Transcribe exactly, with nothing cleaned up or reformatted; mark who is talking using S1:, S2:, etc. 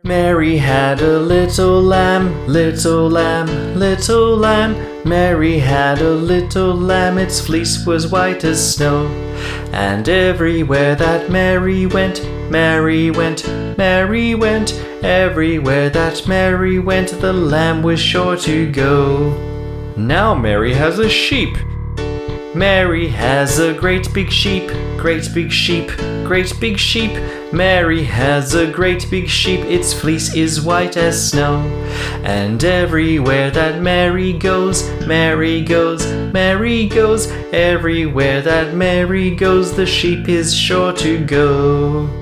S1: Mary had a little lamb, little lamb, little lamb. Mary had a little lamb, its fleece was white as snow. And everywhere that Mary went, Mary went, Mary went. Everywhere that Mary went, the lamb was sure to go. Now Mary has a sheep. Mary has a great big sheep, great big sheep, great big sheep. Mary has a great big sheep, its fleece is white as snow. And everywhere that Mary goes, Mary goes, Mary goes. Everywhere that Mary goes, the sheep is sure to go.